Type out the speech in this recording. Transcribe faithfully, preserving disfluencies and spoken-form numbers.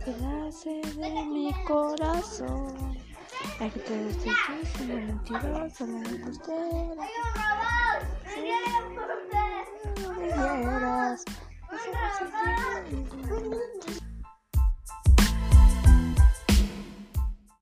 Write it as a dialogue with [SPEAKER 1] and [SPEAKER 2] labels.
[SPEAKER 1] pedazo de mi corazón. Hay que te estoy diciendo mentiroso, la embustera.
[SPEAKER 2] ¡Hay un robot! ¡Me viene por usted!